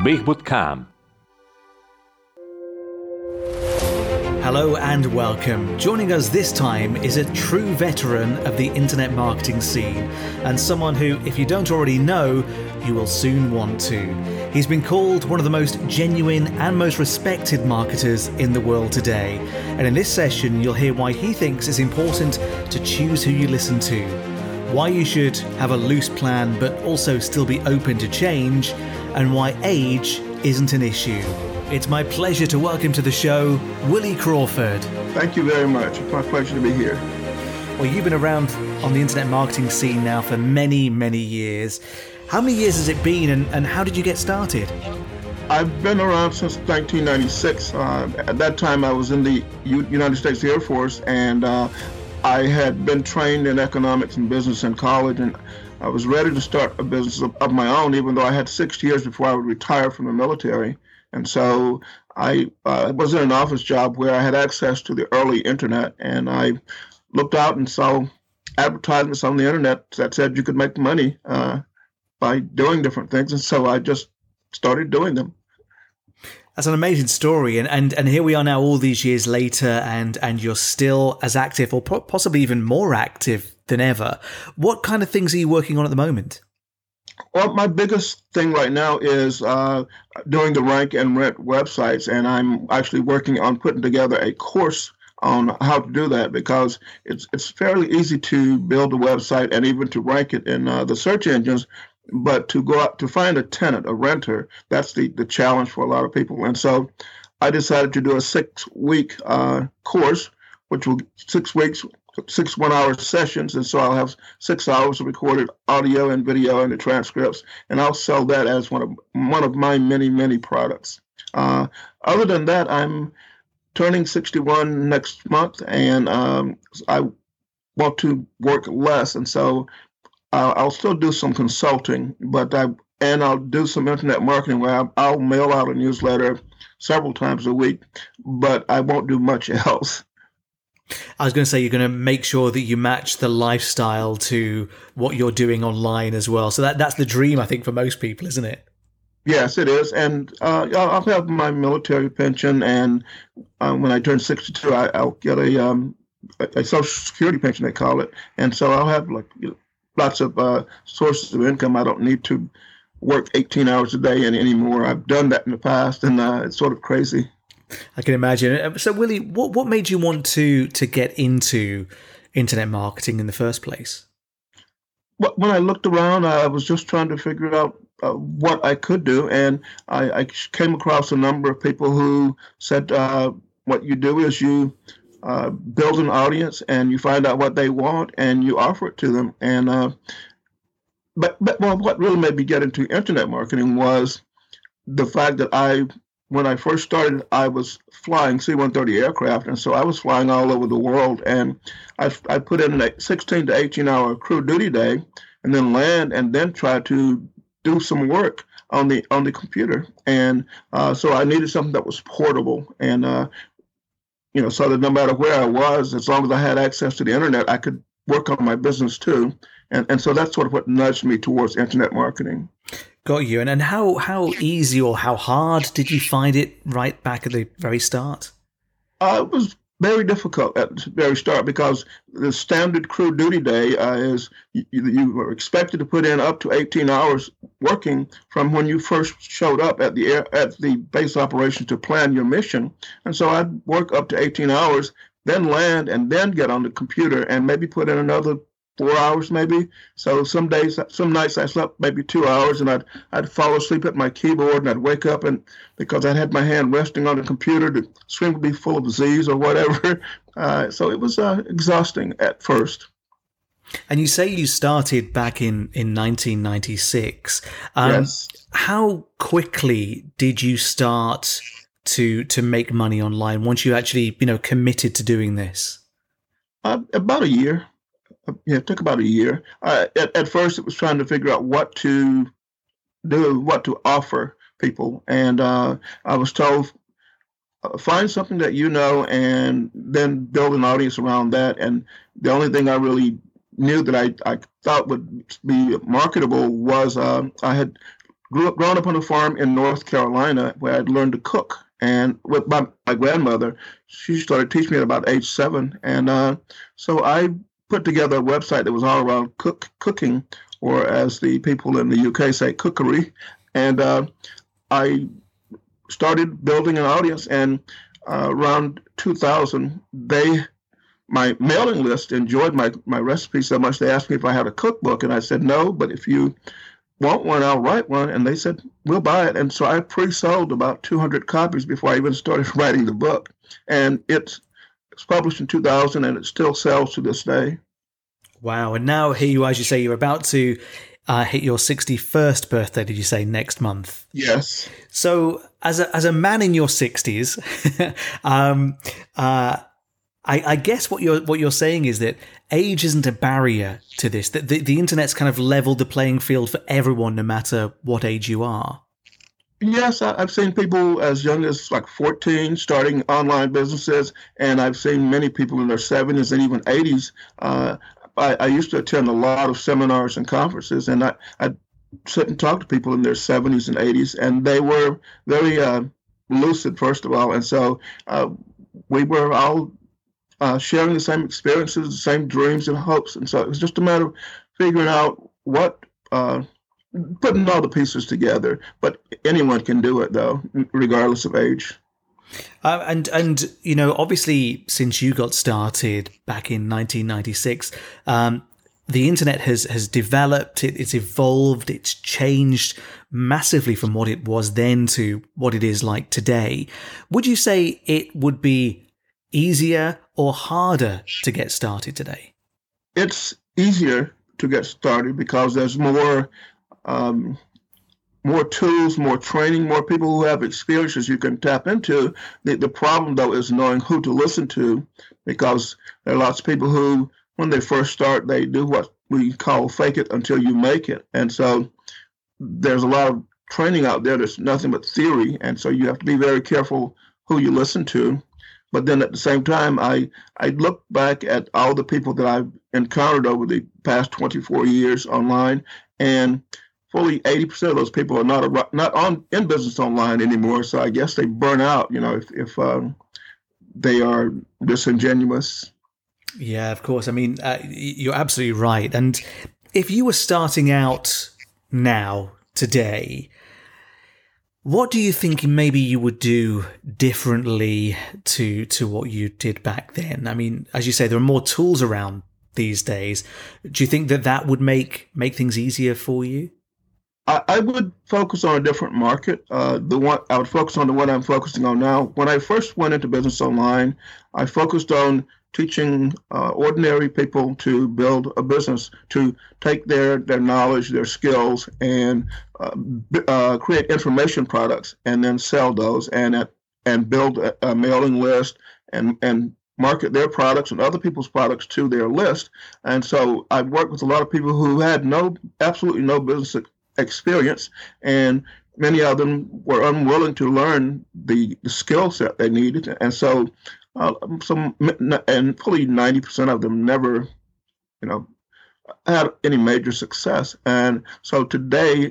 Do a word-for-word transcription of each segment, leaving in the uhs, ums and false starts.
بيهبط كام. Hello and welcome. Joining us this time is a true veteran of the internet marketing scene and someone who, if you don't already know, you will soon want to. He's been called one of the most genuine and most respected marketers in the world today. And in this session, you'll hear why he thinks it's important to choose who you listen to, why you should have a loose plan but also still be open to change, and why age isn't an issue. It's my pleasure to welcome to the show, Willie Crawford. Thank you very much. It's my pleasure to be here. Well, you've been around on the internet marketing scene now for many, many years. How many years has it been, and, and how did you get started? I've been around since nineteen ninety-six. Uh, at that time, I was in the U- United States Air Force, and uh, I had been trained in economics and business in college, and I was ready to start a business of, of my own, even though I had six years before I would retire from the military. And so I uh, was in an office job where I had access to the early internet, and I looked out and saw advertisements on the internet that said you could make money uh, by doing different things. And so I just started doing them. That's an amazing story. And, and, and here we are now all these years later, and, and you're still as active or po- possibly even more active than ever. What kind of things are you working on at the moment? Well, my biggest thing right now is uh, doing the rank and rent websites, and I'm actually working on putting together a course on how to do that, because it's it's fairly easy to build a website and even to rank it in uh, the search engines, but to go out to find a tenant, a renter, that's the, the challenge for a lot of people. And so I decided to do a six-week uh, course, which will six weeks. six one-hour sessions, and so I'll have six hours of recorded audio and video and the transcripts, and I'll sell that as one of one of my many, many products. Uh, other than that, I'm turning sixty-one next month, and um, I want to work less, and so uh, I'll still do some consulting, but I and I'll do some internet marketing where I'll, I'll mail out a newsletter several times a week, but I won't do much else. I was going to say you're going to make sure that you match the lifestyle to what you're doing online as well. So that that's the dream, I think, for most people, isn't it? Yes, it is. And uh, I'll have my military pension, and uh, when I turn sixty-two, I, I'll get a, um, a Social Security pension, they call it. And so I'll have like you know, lots of uh, sources of income. I don't need to work eighteen hours a day anymore. I've done that in the past, and uh, it's sort of crazy. I can imagine. So, Willie, what, what made you want to to get into internet marketing in the first place? Well, when I looked around, I was just trying to figure out uh, what I could do, and I, I came across a number of people who said, uh, what you do is you uh, build an audience, and you find out what they want, and you offer it to them. And uh, but, but well, what really made me get into internet marketing was the fact that I When I first started, I was flying C one thirty aircraft, and so I was flying all over the world. And I, I put in a sixteen to eighteen hour crew duty day, and then land, and then try to do some work on the on the computer. And uh, so I needed something that was portable, and uh, you know, so that no matter where I was, as long as I had access to the internet, I could work on my business too. And and so that's sort of what nudged me towards internet marketing. Got you. And and how, how easy or how hard did you find it right back at the very start? Uh, it was very difficult at the very start, because the standard crew duty day uh, is you, you were expected to put in up to eighteen hours working from when you first showed up at the air, at the base operations to plan your mission. And so I'd work up to eighteen hours, then land, and then get on the computer and maybe put in another four hours maybe. So some days, some nights I slept maybe two hours, and I'd I'd fall asleep at my keyboard, and I'd wake up, and because I had my hand resting on the computer, the screen would be full of Z's or whatever. Uh, so it was uh, exhausting at first. And you say you started back in, in nineteen ninety-six. Um, yes. How quickly did you start to to make money online once you actually, you know, committed to doing this? Uh, about a year. Yeah, it took about a year. Uh, at, at first, it was trying to figure out what to do, what to offer people. And uh, I was told, uh, find something that you know and then build an audience around that. And the only thing I really knew that I, I thought would be marketable was uh, I had grew up, grown up on a farm in North Carolina where I'd learned to cook. And with my, my grandmother, she started teaching me at about age seven. And uh, so I put together a website that was all around cook cooking, or as the people in the U K say, cookery. And uh, I started building an audience. And uh, around two thousand, they my mailing list enjoyed my, my recipe so much they asked me if I had a cookbook. And I said, no, but if you want one, I'll write one. And they said, we'll buy it. And so I pre-sold about two hundred copies before I even started writing the book. And it's, it's published in two thousand, and it still sells to this day. Wow. And now here you are, as you say, you're about to uh, hit your sixty-first birthday, did you say, next month? Yes. So as a, as a man in your sixties, um, uh, I, I guess what you're what you're saying is that age isn't a barrier to this. That the, the internet's kind of leveled the playing field for everyone, no matter what age you are. Yes, I, I've seen people as young as like fourteen starting online businesses, and I've seen many people in their seventies and even eighties. Uh, I, I used to attend a lot of seminars and conferences, and I I sit and talk to people in their seventies and eighties, and they were very uh, lucid, first of all, and so uh, we were all Uh, sharing the same experiences, the same dreams and hopes. And so it was just a matter of figuring out what, uh, putting all the pieces together. But anyone can do it, though, regardless of age. Uh, and, and you know, obviously, since you got started back in nineteen ninety-six, um, the internet has, has developed, it, it's evolved, it's changed massively from what it was then to what it is like today. Would you say it would be easier or harder to get started today? It's easier to get started because there's more um, more tools, more training, more people who have experiences you can tap into. The, the problem, though, is knowing who to listen to, because there are lots of people who, when they first start, they do what we call fake it until you make it. And so there's a lot of training out there that's nothing but theory. And so you have to be very careful who you listen to. But then at the same time, I, I look back at all the people that I've encountered over the past twenty-four years online, and fully eighty percent of those people are not a, not on in business online anymore. So I guess they burn out, you know, if, if um, they are disingenuous. Yeah, of course. I mean, uh, you're absolutely right. And if you were starting out now, today, what do you think maybe you would do differently to to what you did back then? I mean, as you say, there are more tools around these days. Do you think that that would make make things easier for you? I, I would focus on a different market. Uh, the one I would focus on the one I'm focusing on now. When I first went into business online, I focused on teaching uh, ordinary people to build a business, to take their, their knowledge, their skills, and uh, uh, create information products, and then sell those, and uh, and build a, a mailing list, and and market their products and other people's products to their list. And so I worked with a lot of people who had no, absolutely no business experience, and many of them were unwilling to learn the, the skill set they needed. And so Uh, some and fully ninety percent of them never, you know, had any major success. And so today,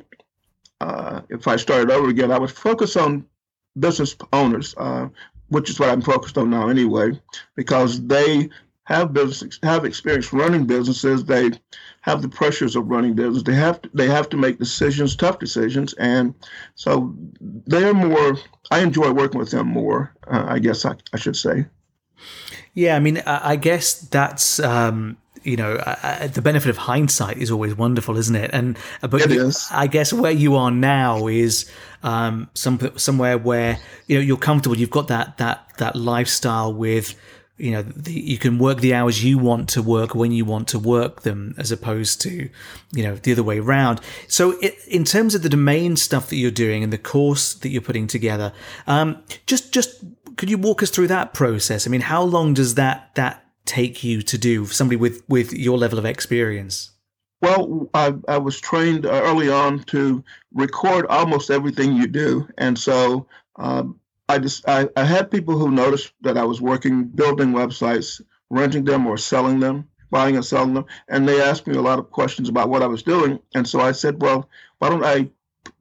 uh, if I started over again, I would focus on business owners, uh, which is what I'm focused on now anyway, because they have business, have experience running businesses. They have the pressures of running business. They have to, they have to make decisions, tough decisions, and so they're more. I enjoy working with them more. Uh, I guess I, I should say. Yeah, I mean, I, I guess that's um, you know, uh, the benefit of hindsight is always wonderful, isn't it? And but it you, is. I guess where you are now is um, some somewhere where you know you're comfortable. You've got that that that lifestyle with. You know, the, you can work the hours you want to work when you want to work them, as opposed to, you know, the other way around. So it, in terms of the domain stuff that you're doing and the course that you're putting together, um, just just could you walk us through that process? I mean, how long does that that take you to do for somebody with, with your level of experience? Well, I, I was trained early on to record almost everything you do. And so um, I just I, I had people who noticed that I was working, building websites, renting them or selling them, buying and selling them. And they asked me a lot of questions about what I was doing. And so I said, well, why don't I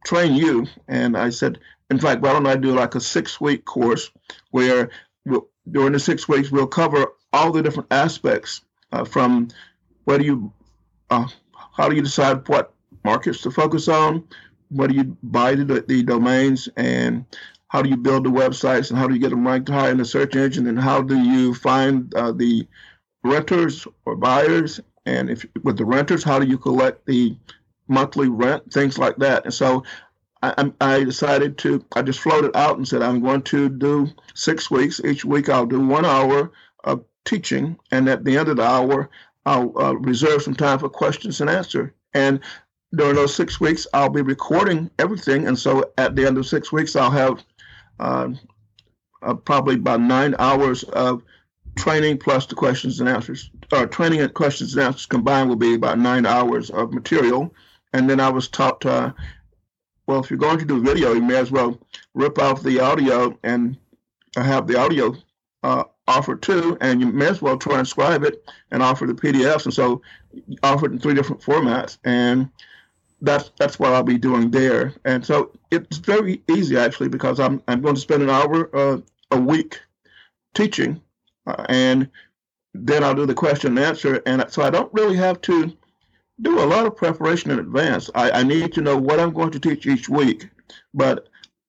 train you. And I said, in fact, why don't I do like a six-week course where we'll, during the six weeks we'll cover all the different aspects uh, from where do you, uh, how do you decide what markets to focus on, what do you buy the, the domains, and how do you build the websites, and how do you get them ranked high in the search engine, and how do you find uh, the renters or buyers, and if with the renters, how do you collect the monthly rent, things like that. And so I, I decided to, I just floated out and said, I'm going to do six weeks. Each week I'll do one hour of teaching, and at the end of the hour, I'll uh, reserve some time for questions and answer. And during those six weeks, I'll be recording everything. And so at the end of six weeks, I'll have uh, uh, probably about nine hours of training plus the questions and answers. Or training and questions and answers combined will be about nine hours of material. And then I was taught, uh, well, if you're going to do video, you may as well rip off the audio and have the audio uh, offered too, and you may as well transcribe it and offer the P D Fs. And so offer it in three different formats. And that's that's what I'll be doing there. And so it's very easy, actually, because I'm I'm going to spend an hour uh, a week teaching, uh, and then I'll do the question and answer. And so I don't really have to do a lot of preparation in advance. I, I need to know what I'm going to teach each week, but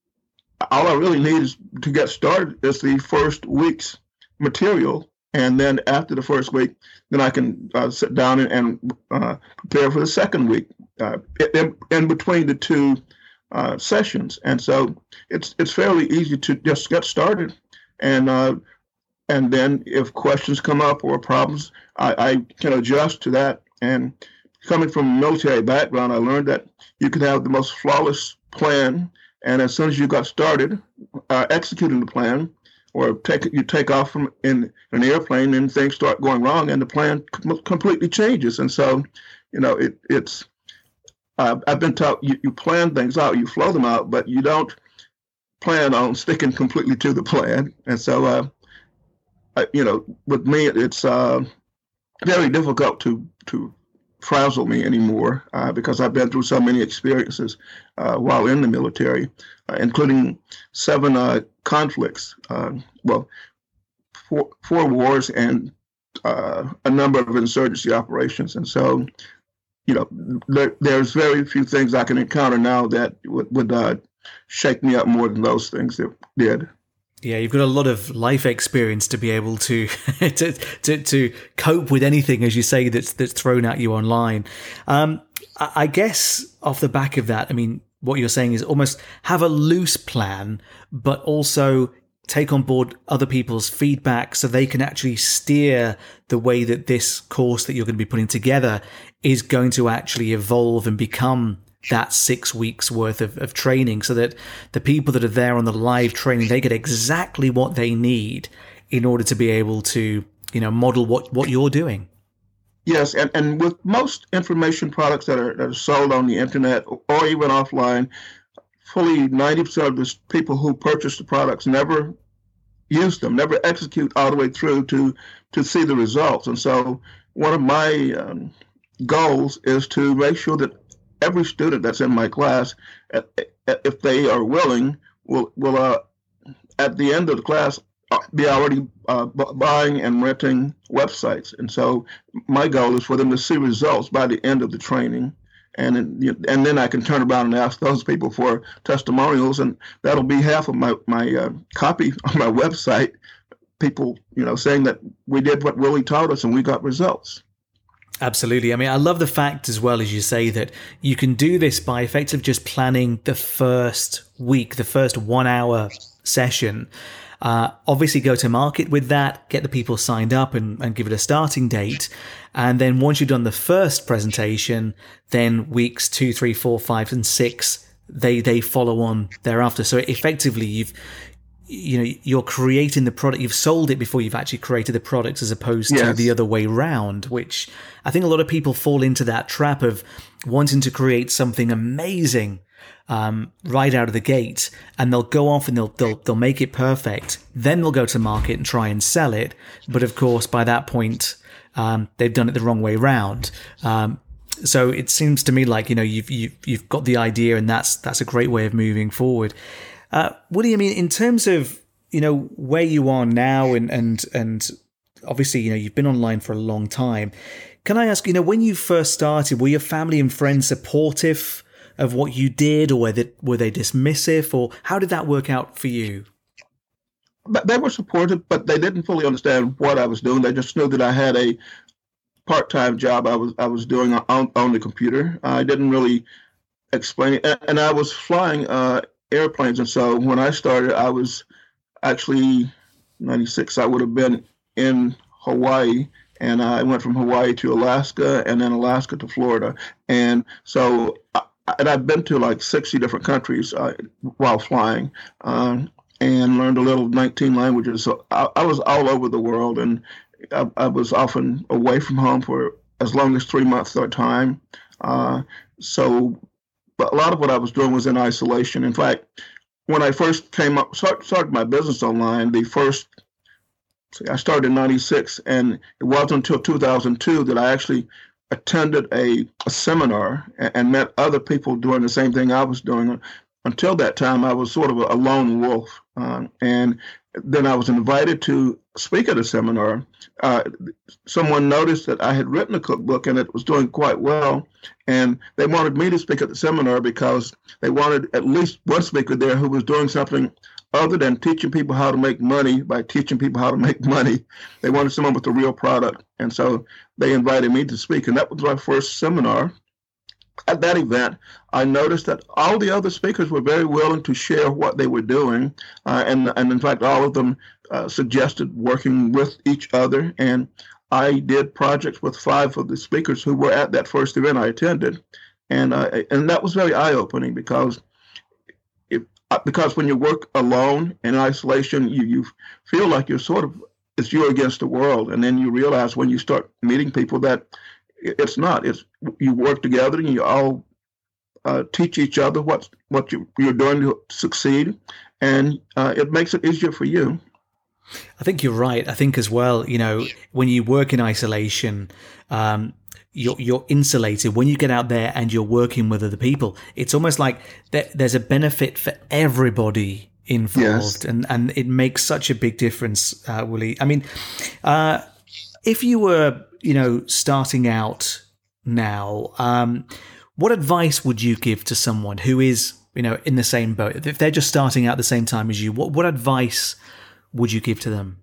all I really need is to get started is the first week's material. And then after the first week, then I can uh, sit down and, and uh, prepare for the second week uh, in, in between the two uh, sessions. And so it's it's fairly easy to just get started. And uh, and then if questions come up or problems, I, I can adjust to that. And coming from a military background, I learned that you can have the most flawless plan. And as soon as you got started uh, executing the plan, or take you take off from in an airplane, and things start going wrong, and the plan com- completely changes. And so, you know, it, it's uh, I've been taught you, you plan things out, you flow them out, but you don't plan on sticking completely to the plan. And so, uh, I, you know, with me, it's uh, very difficult to to frazzle me anymore uh, because I've been through so many experiences uh, while in the military, uh, including seven uh, conflicts, uh, well, four, four wars and uh, a number of insurgency operations. And so, you know, there, there's very few things I can encounter now that would, would uh, shake me up more than those things that did. Yeah, you've got a lot of life experience to be able to to, to to cope with anything, as you say, that's that's thrown at you online. Um, I guess off the back of that, I mean, what you're saying is almost have a loose plan, but also take on board other people's feedback so they can actually steer the way that this course that you're going to be putting together is going to actually evolve and become that six weeks worth of, of training, so that the people that are there on the live training, they get exactly what they need in order to be able to, you know, model what, what you're doing. Yes, and, and with most information products that are, that are sold on the internet or even offline, fully ninety percent of the people who purchase the products never use them, never execute all the way through to, to see the results. And so one of my um, goals is to make sure that every student that's in my class, if they are willing, will will uh, at the end of the class be already uh, buying and renting websites. And so my goal is for them to see results by the end of the training, and and then I can turn around and ask those people for testimonials, and that'll be half of my my uh, copy on my website. People, you know, saying that we did what Willie taught us and we got results. Absolutely. I mean, I love the fact as well, as you say, that you can do this by effectively just planning the first week, the first one hour session. Uh, obviously go to market with that, get the people signed up and, and give it a starting date. And then once you've done the first presentation, then weeks two, three, four, five, and six, they, they follow on thereafter. So effectively you've, you know, you're creating the product, you've sold it before you've actually created the product, as opposed yes. to the other way round, which I think a lot of people fall into that trap of wanting to create something amazing um, right out of the gate, and they'll go off and they'll, they'll, they'll make it perfect. Then they'll go to market and try and sell it. But of course, by that point, um, they've done it the wrong way round. Um, so it seems to me like, you know, you've you've you've got the idea, and that's that's a great way of moving forward. Uh, Woody, I mean, in terms of, you know, where you are now, and and and obviously, you know, you've been online for a long time. Can I ask, you know, when you first started, were your family and friends supportive of what you did, or were they, were they dismissive, or how did that work out for you? But they were supportive, but they didn't fully understand what I was doing. They just knew that I had a part-time job I was I was doing on, on the computer. I didn't really explain it, and I was flying uh, airplanes, and so when I started, I was actually ninety-six. I would have been in Hawaii. And I went from Hawaii to Alaska, and then Alaska to Florida. And so, and I've been to like sixty different countries uh, while flying, um, and learned a little nineteen languages. So I, I was all over the world, and I, I was often away from home for as long as three months at a time. Uh, so, but a lot of what I was doing was in isolation. In fact, when I first came up, start, started my business online, the first I started in ninety-six, and it wasn't until two thousand two that I actually attended a, a seminar and, and met other people doing the same thing I was doing. Until that time, I was sort of a, a lone wolf. Um, and then I was invited to speak at a seminar. Uh, someone noticed that I had written a cookbook and it was doing quite well. And they wanted me to speak at the seminar because they wanted at least one speaker there who was doing something other than teaching people how to make money by teaching people how to make money. They wanted someone with a real product. And so they invited me to speak. And that was my first seminar. At that event, I noticed that all the other speakers were very willing to share what they were doing. Uh, and, and in fact, all of them uh, suggested working with each other. And I did projects with five of the speakers who were at that first event I attended. And, uh, and that was very eye-opening because Because when you work alone in isolation, you, you feel like you're sort of, it's you against the world. And then you realize when you start meeting people that it's not. It's you work together and you all uh, teach each other what, what you, you're doing to succeed. And uh, it makes it easier for you. I think you're right. I think as well, you know, when you work in isolation, um, You're, you're insulated. When you get out there and you're working with other people, it's almost like there, there's a benefit for everybody involved. Yes. And, and it makes such a big difference, uh, Willie. I mean, uh, if you were, you know, starting out now, um, what advice would you give to someone who is, you know, in the same boat? If they're just starting out the same time as you, what, what advice would you give to them?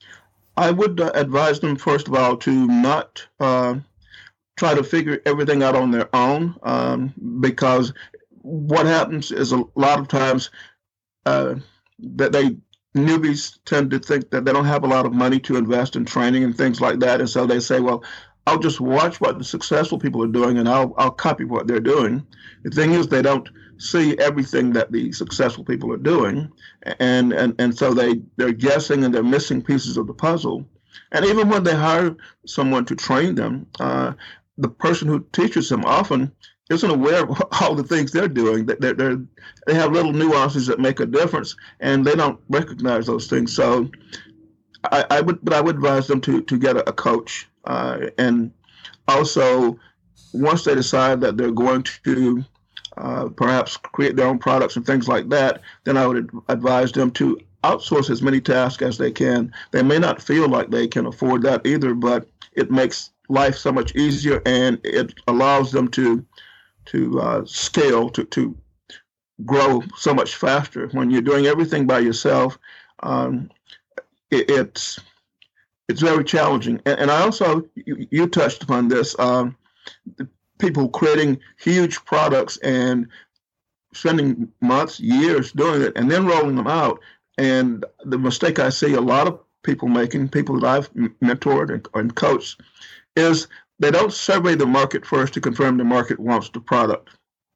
I would uh, advise them, first of all, to not uh, try to figure everything out on their own, um, because what happens is a lot of times uh, that they newbies tend to think that they don't have a lot of money to invest in training and things like that, and so they say, "Well, I'll just watch what the successful people are doing, and I'll I'll copy what they're doing." The thing is, they don't see everything that the successful people are doing, and and and so they they're guessing and they're missing pieces of the puzzle. And even when they hire someone to train them, uh, the person who teaches them often isn't aware of all the things they're doing. They're, they're, they have little nuances that make a difference, and they don't recognize those things. So I, I would, but I would advise them to to get a, a coach, uh, and also once they decide that they're going to uh, perhaps create their own products and things like that, then I would advise them to outsource as many tasks as they can. They may not feel like they can afford that either, but it makes life so much easier, and it allows them to to uh, scale, to to grow so much faster. When you're doing everything by yourself, um, it, it's it's very challenging. And, and I also, you, you touched upon this, um, people creating huge products and spending months, years doing it, and then rolling them out. And the mistake I see a lot of people making, people that I've mentored and, and coached, is they don't survey the market first to confirm the market wants the product.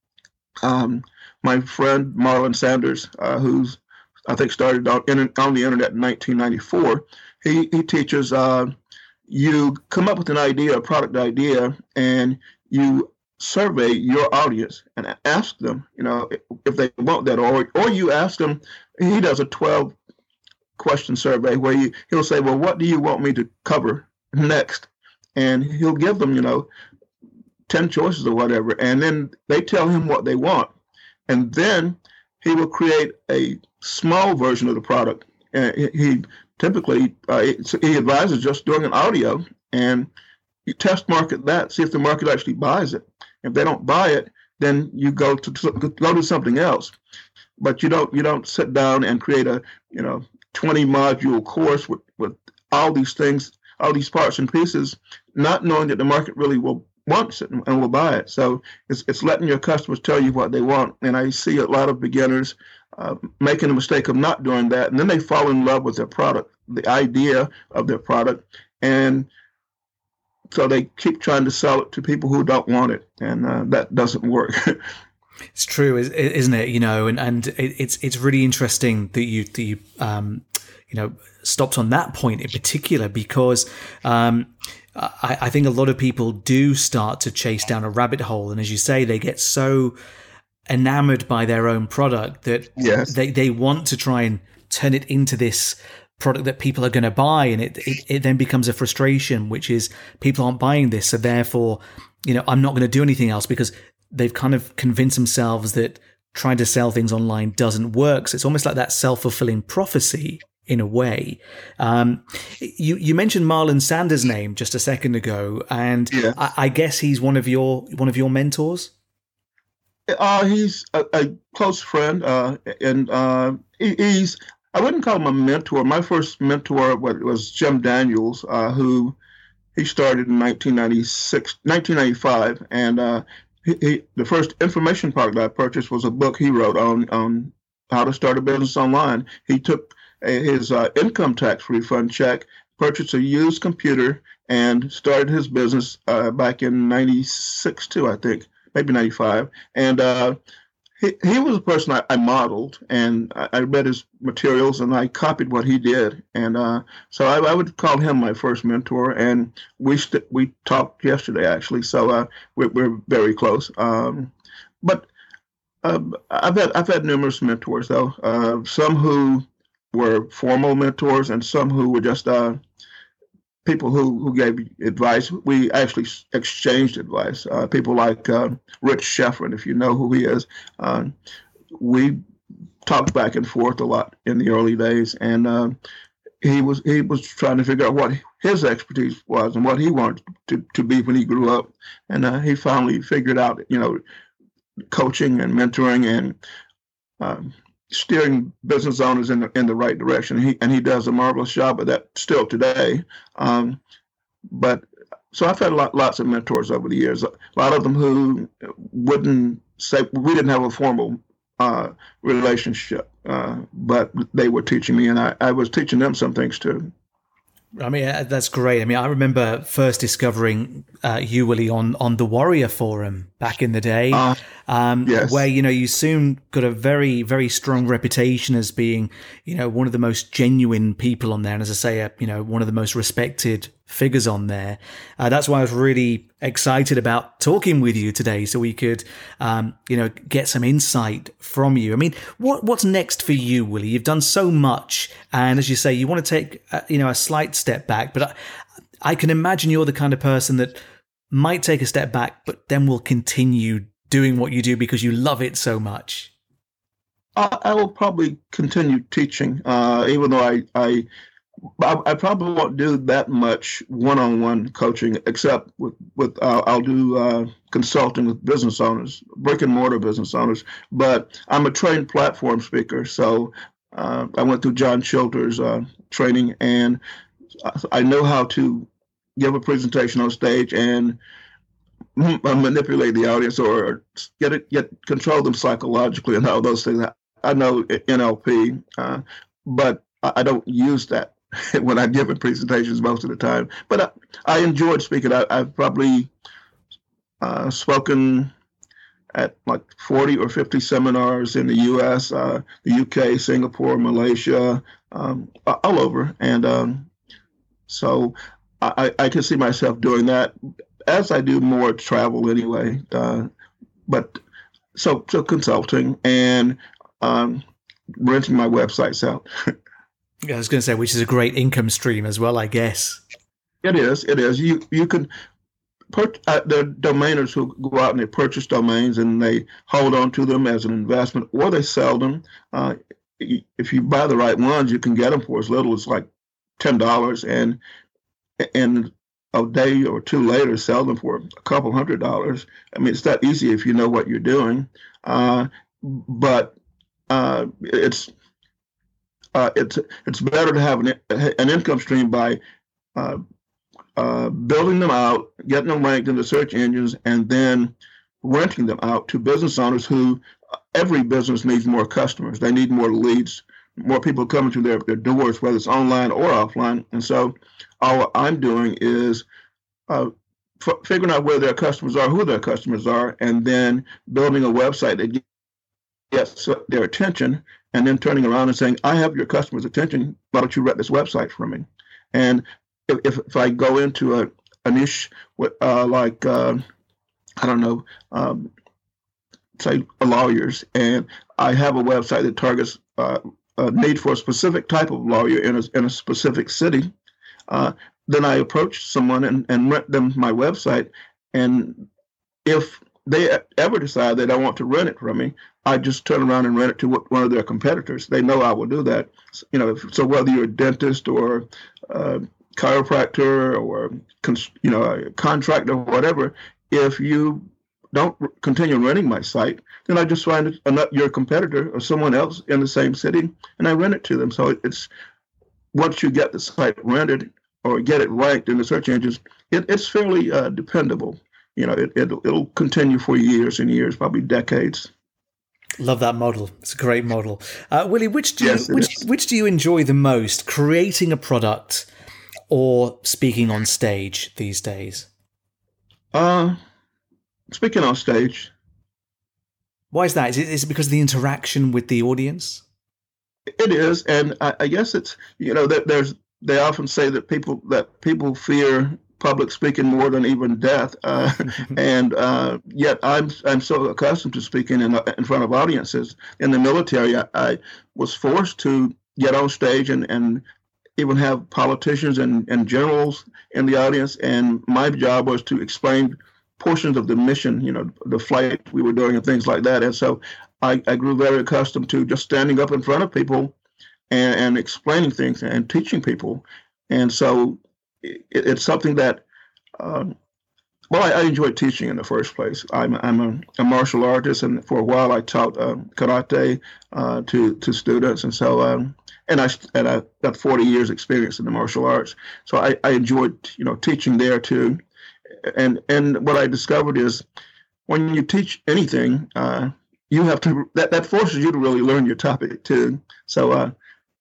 Um, my friend Marlon Sanders, uh, who's I think started on, on the internet in nineteen ninety-four, he, he teaches uh, you come up with an idea, a product idea, and you survey your audience and ask them, you know, if they want that, or or you ask them. He does a twelve question survey where you, he'll say, well, what do you want me to cover next? And he'll give them, you know, ten choices or whatever, and then they tell him what they want, and then he will create a small version of the product. And he, he typically uh, he advises just doing an audio, and you test market that, see if the market actually buys it. If they don't buy it, then you go to go to something else. But you don't you don't sit down and create a you know twenty module course with, with all these things, all these parts and pieces, not knowing that the market really will wants it and will buy it. So it's it's letting your customers tell you what they want. And I see a lot of beginners uh, making the mistake of not doing that, and then they fall in love with their product, the idea of their product, and so they keep trying to sell it to people who don't want it, and uh, that doesn't work. It's true, isn't it? You know, and and it's it's really interesting that you that you um you know stopped on that point in particular, because um I, I think a lot of people do start to chase down a rabbit hole, and as you say, they get so enamored by their own product that yes. they they want to try and turn it into this product that people are going to buy, and it, it it then becomes a frustration, which is people aren't buying this, so therefore, you know, I'm not going to do anything else, because they've kind of convinced themselves that trying to sell things online doesn't work. So it's almost like that self-fulfilling prophecy in a way. Um, you you mentioned Marlon Sanders' name just a second ago, and yeah. I, I guess he's one of your one of your mentors. Uh, he's a, a close friend, uh, and uh, he, he's. I wouldn't call him a mentor. My first mentor was Jim Daniels, uh, who he started in nineteen ninety-six, nineteen ninety-five, and uh, he, he, the first information product I purchased was a book he wrote on on how to start a business online. He took a, his uh, income tax refund check, purchased a used computer, and started his business uh, back in ninety-six too, I think, maybe ninety-five, and. Uh, He, he was a person I, I modeled, and I, I read his materials, and I copied what he did. And uh, so I, I would call him my first mentor, and we st- we talked yesterday, actually, so uh, we're, we're very close. Um, but uh, I've had I've had numerous mentors, though, uh, some who were formal mentors and some who were just uh, people who, who gave advice. We actually exchanged advice. Uh, people like uh, Rich Schefren, if you know who he is. Uh, we talked back and forth a lot in the early days, and uh, he was he was trying to figure out what his expertise was and what he wanted to, to be when he grew up. And uh, he finally figured out, you know, coaching and mentoring and uh, steering business owners in the in the right direction. He and he does a marvelous job of that still today. Um, but so I've had a lot, lots of mentors over the years. A lot of them who wouldn't say we didn't have a formal uh, relationship, uh, but they were teaching me, and I, I was teaching them some things too. I mean, that's great. I mean, I remember first discovering uh, you, Willie, on, on the Warrior Forum back in the day, uh, um, yes. where, you know, you soon got a very, very strong reputation as being, you know, one of the most genuine people on there. And as I say, uh, you know, one of the most respected figures on there. Uh, that's why I was really excited about talking with you today, so we could, um, you know, get some insight from you. I mean, what what's next for you, Willie? You've done so much, and as you say, you want to take, uh, you know, a slight step back. But I, I can imagine you're the kind of person that might take a step back, but then will continue doing what you do because you love it so much. I, I will probably continue teaching, uh, even though I. I I probably won't do that much one-on-one coaching, except with, with uh, I'll do uh, consulting with business owners, brick and mortar business owners. But I'm a trained platform speaker, so uh, I went through John Childer's uh, training, and I know how to give a presentation on stage and manipulate the audience or get it, get control them psychologically and all those things. I know N L P, uh, but I don't use that when I give presentations most of the time. But I, I enjoyed speaking. I, I've probably uh, spoken at like forty or fifty seminars in the U S, uh, the U K, Singapore, Malaysia, um, all over. And um, so I, I can see myself doing that as I do more travel anyway. Uh, but so, so consulting and um, renting my websites out. I was going to say, which is a great income stream as well, I guess. It is. It is. You you can per, uh, there are domainers who go out and they purchase domains and they hold on to them as an investment, or they sell them. Uh, if you buy the right ones, you can get them for as little as like ten dollars, and and a day or two later sell them for a couple hundred dollars. I mean, it's that easy if you know what you're doing. Uh, but uh, it's uh, it's it's better to have an, an income stream by uh, uh, building them out, getting them ranked in the search engines, and then renting them out to business owners who, every business needs more customers. They need more leads, more people coming through their, their doors, whether it's online or offline. And so all I'm doing is uh, f- figuring out where their customers are, who their customers are, and then building a website that gets their attention, and then turning around and saying, I have your customers' attention. Why don't you rent this website for me? And if, if, if I go into a, a niche uh, like, uh, I don't know, um, say lawyers, and I have a website that targets uh, a need for a specific type of lawyer in a, in a specific city, uh, then I approach someone and, and rent them my website. And if they ever decide they don't want to rent it from me, I just turn around and rent it to one of their competitors. They know I will do that. You know, if, so whether you're a dentist or a chiropractor or you know a contractor or whatever, if you don't continue renting my site, then I just find a, your competitor or someone else in the same city, and I rent it to them. So it's once you get the site rented or get it ranked in the search engines, it, it's fairly uh, dependable. You know, it, it'll, it'll continue for years and years, probably decades. Love that model. It's a great model. Uh, Willie, which do yes, you which, which do you enjoy the most, creating a product or speaking on stage these days? Uh, speaking on stage. Why is that? Is it, is it because of the interaction with the audience? It is, and I, I guess it's, you know, that there's they often say that people that people fear public speaking more than even death, uh, and uh, yet I'm I'm so accustomed to speaking in in front of audiences. In the military, I, I was forced to get on stage and, and even have politicians and, and generals in the audience, and my job was to explain portions of the mission, you know, the flight we were doing and things like that. And so I, I grew very accustomed to just standing up in front of people and, and explaining things and teaching people. And so it, it's something that, um, well, I, I enjoyed teaching in the first place. I'm, I'm a, a martial artist, and for a while I taught uh, karate uh, to to students. And so, um, and I and I got forty years experience in the martial arts. So I, I enjoyed, you know, teaching there too. And and what I discovered is when you teach anything, uh, you have to that, that forces you to really learn your topic too. So uh,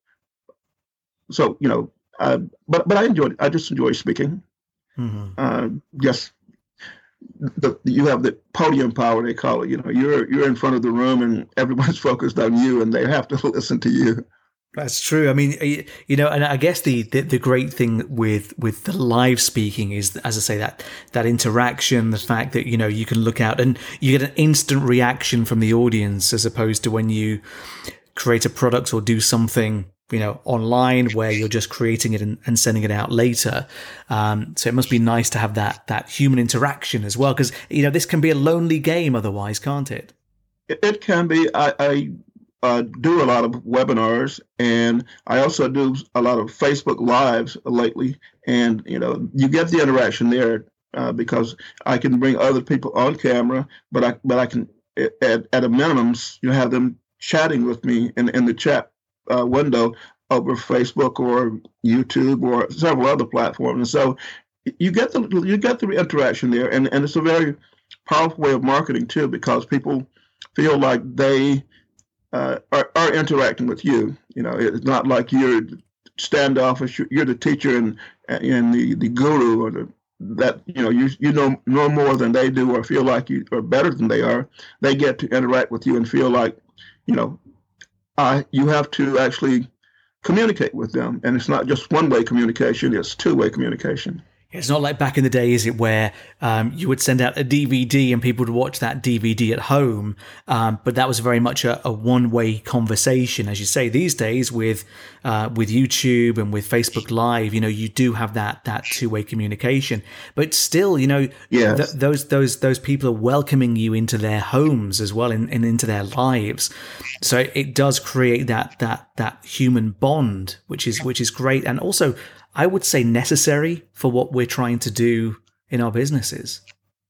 so you know, uh, but but I enjoyed I just enjoy speaking. Mm-hmm. Uh, yes, the, you have the podium power, they call it. You know, you're you're in front of the room and everyone's focused on you, and they have to listen to you. That's true. I mean, you know, and I guess the, the, the great thing with, with the live speaking is, as I say, that that interaction, the fact that, you know, you can look out and you get an instant reaction from the audience, as opposed to when you create a product or do something, you know, online where you're just creating it and, and sending it out later. Um, so it must be nice to have that that human interaction as well, because, you know, this can be a lonely game otherwise, can't it? It, it can be. I. I... Uh, do a lot of webinars, and I also do a lot of Facebook Lives lately. And you know, you get the interaction there uh, because I can bring other people on camera, but I but I can at at a minimum you have them chatting with me in in the chat uh, window over Facebook or YouTube or several other platforms. And so you get the you get the interaction there, and and it's a very powerful way of marketing too, because people feel like they Uh, are, are interacting with you. You know, it's not like you're standoffish. You're the teacher and and the, the guru, or the that you know you you know know more than they do, or feel like you are better than they are. They get to interact with you and feel like, you know, I you have to actually communicate with them, and it's not just one way communication; it's two way communication. It's not like back in the day, is it, where um, you would send out a D V D and people would watch that D V D at home. Um, but that was very much a, a one-way conversation, as you say. These days, with uh, with YouTube and with Facebook Live, you know, you do have that that two-way communication. But still, you know, yes. th- those those those people are welcoming you into their homes as well, and, and into their lives. So it does create that that that human bond, which is which is great, and also, I would say, necessary for what we're trying to do in our businesses.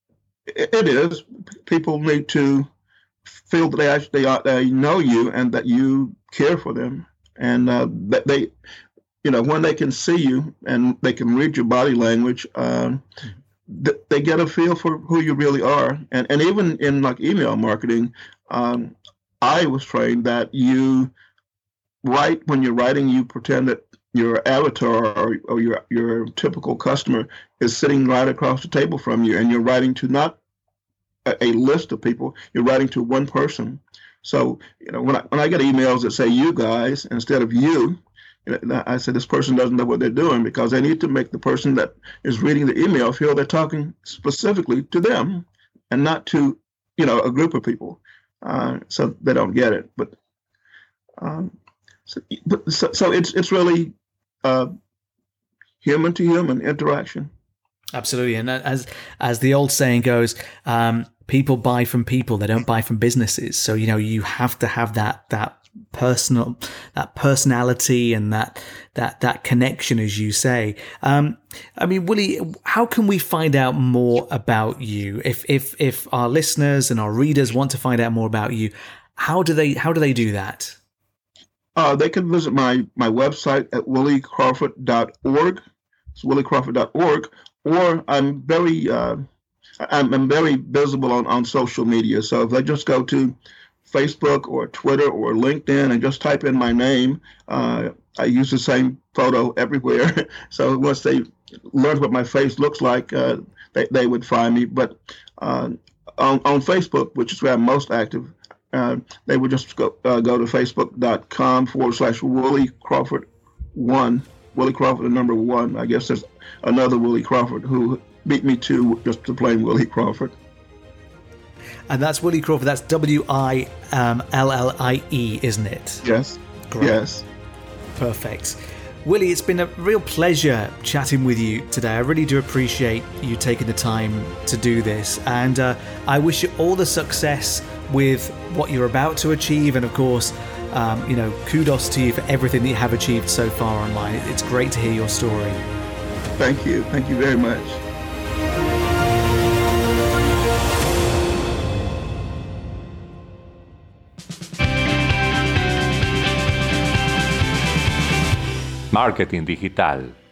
It is. People need to feel that they actually they know you and that you care for them, and uh, that they, you know, when they can see you and they can read your body language, um, th- they get a feel for who you really are. And and even in like email marketing, um, I was trained that you write when you're writing, you pretend that your avatar or, or your your typical customer is sitting right across the table from you, and you're writing to not a, a list of people, you're writing to one person. So, you know, when I, when I get emails that say "you guys" instead of "you," you know, I say this person doesn't know what they're doing, because they need to make the person that is reading the email feel they're talking specifically to them and not to, you know, a group of people, uh, so they don't get it. But um, so, but, so, so it's it's really Uh, human to human interaction. Absolutely. And as as the old saying goes, um, people buy from people, they don't buy from businesses. So, you know, you have to have that that personal that personality and that that that connection, as you say. Um, I mean, Willie, how can we find out more about you? If if if our listeners and our readers want to find out more about you, how do they how do they do that? Uh, they can visit my, my website at willie crawford dot org. It's willie crawford dot org. Or I'm very uh, I'm, I'm very visible on, on social media. So if they just go to Facebook or Twitter or LinkedIn and just type in my name, uh, I use the same photo everywhere. So once they learn what my face looks like, uh, they, they would find me. But uh, on, on Facebook, which is where I'm most active, Uh, they would just go uh, go to facebook.com forward slash Willie Crawford one, Willie Crawford, the number one. I guess there's another Willie Crawford who beat me to just to plain Willie Crawford. And that's Willie Crawford. That's W I L L I E, isn't it? Yes. Great. Yes. Perfect. Willie, it's been a real pleasure chatting with you today. I really do appreciate you taking the time to do this. And uh, I wish you all the success with what you're about to achieve. And of course, um, you know, kudos to you for everything that you have achieved so far online. It's great to hear your story. Thank you. Thank you very much. Marketing Digital.